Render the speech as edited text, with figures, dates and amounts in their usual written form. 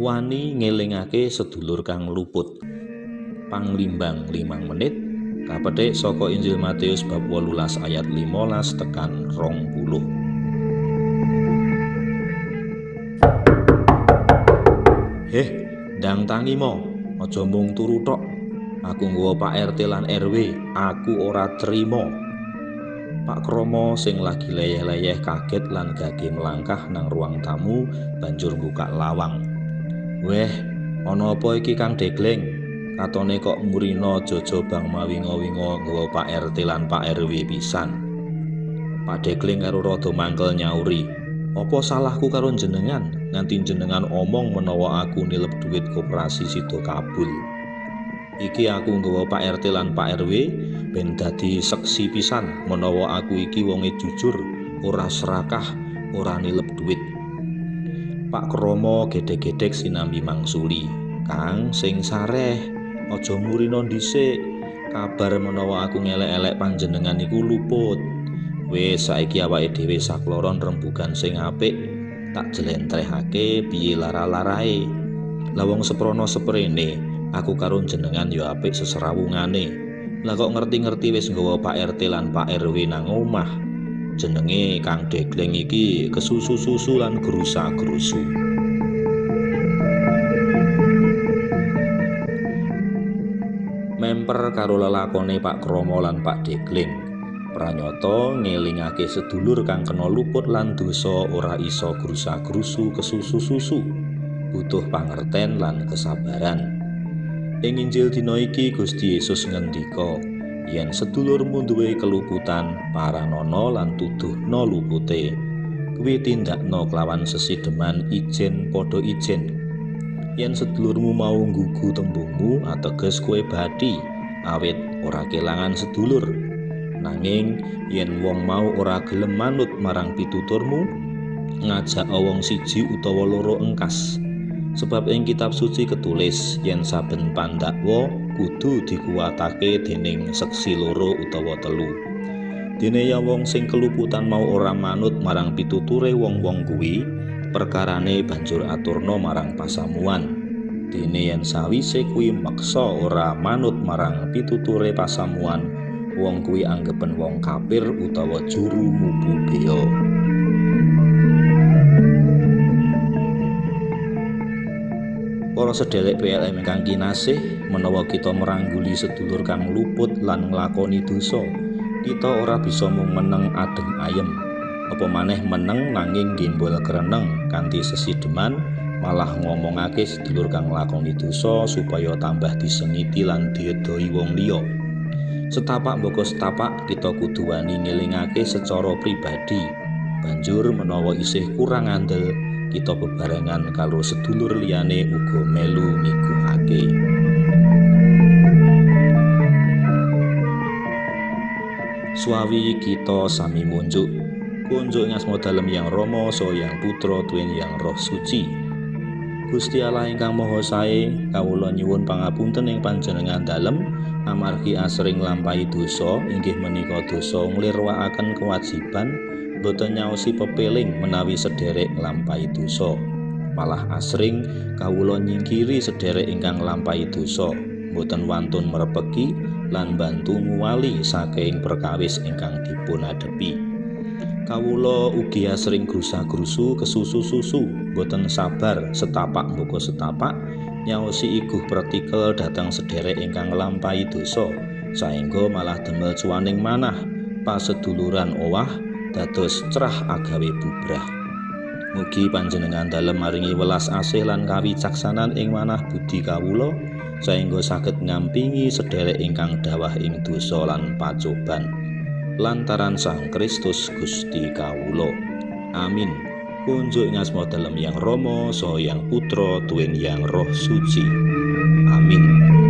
wani ngelingake sedulur kang luput. Panglimbang 5 menit kapetik saka Injil Matius bab 18 ayat 15 tekan 20. Ndang tangi mo, aja mung turu tok. Aku nggawa Pak RT lan RW, aku ora trima. Pak Kromo sing lagi leyeh-leyeh kaget lan gage melangkah nang ruang tamu banjur buka lawang. Weh, ana apa iki Kang Degleng? Katone kok murina jojo bang mawinga-winga nggawa Pak RT lan Pak RW pisan. Pak Degleng karo rada mangkel nyauri, "Apa salahku karo jenengan nganti jenengan omong menawa aku nilep duit koperasi sida kabul. Iki aku nggawa Pak RT lan Pak RW ben dadi seksi pisan menawa aku iki wonge jujur, ora serakah, ora nilep duit." Pak Kromo gedhe-gedhek sinambi mangsuli, "Kang sing sareh, aja murina dhisik. Kabar menawa aku ngelek-elek panjenengan iku luput. Wis saiki awake dhewe sakloron rembugan sing apik, tak jlentrehake piye lara-larae. Lah wong seprono seprene, aku karo jenengan ya apik seserawungane. Lah kok ngerti-ngerti wis nggawa Pak RT lan Pak RW nang omah. Jenenge Kang Degleng iki kesusu-susu lan gerusa-gerusu." Memper karo lelakone Pak Kromo lan Pak Degleng, pranyata ngelingake sedulur kang kena luput lan dosa ora iso gerusa-gerusu kesusu-susu, butuh pangerten lan kesabaran. Ing Injil dina iki Gusti Yesus ngendika, yen sedulurmu duwe keluputan, paranono lan tuduhna lupute. Kuwi tindakno kelawan sesideman ijen padha ijen. Yen sedulurmu mau nggugu tembungmu, ateges kowe bathi, awit ora kelangan sedulur. Nanging yen wong mau ora gelem manut marang pituturmu, ngajak wong siji utawa loro engkas. Sebab ing kitab suci ketulis yen saben pandakwa kudu dikuwatake dening seksi loro utawa telu. Dene ya wong sing keluputan mau ora manut marang pituture wong-wong kuwi, perkarane banjur aturna marang pasamuan. Dene yen sawise kuwi meksa ora manut marang pituture pasamuan, wong kuwi anggepen wong kafir utawa juru mubu bea. Para sedherek PLM ingkang kinasih, menawa kita merangguli sedulur kang luput lan nglakoni dosa, kita ora bisa mung meneng adem ayem, apa maneh meneng nanging gembol kreneng kanthi sesideman, malah ngomongake sedulur kang nglakoni dosa supaya tambah disengiti lan diedoi wong liya. Setapak mboko setapak kita kudu wani ngelingake secara pribadi. Banjur menawa isih kurang andel, kita bebarengan karo sedulur liyane uga melu miguhake. Suawi kita sami munjuk. Kunjuk ing asma dalem Yang Rama saha Yang Putra tuwin Yang Roh Suci. Gusti Allah ingkang Maha Sae, kawula nyuwun pangapunten ing panjenengan dalem amargi asring nglampahi dosa, inggih menika dosa nglirwakaken kewajiban, boten nyaosi pepeling menawi sederek nglampahi dosa. Malah asring kawula nyingkiri sederek ingkang nglampahi dosa, boten wantun merepeki lan bantu nguwali saking perkawis ingkang dipun adepi. Kawula ugi asring grusa-grusu kesusu-susu, boten sabar setapak mboko setapak nyaosi iguh pratikel dhateng sederek ingkang nglampahi dosa, saengga malah demel cuaning manah paseduluran owah dados cerah agawe bubrah. Mugi panjenengan dalem maringi welas asih lan kawicaksanan ing manah budi kawula, saengga saged ngampingi sederek ingkang dawah ing dosa lan pacoban. Lantaran Sang Kristus Gusti kawula. Amin. Kunjuk ing asma dalem Yang Rama saha Yang Putra tuwin Yang Roh Suci. Amin.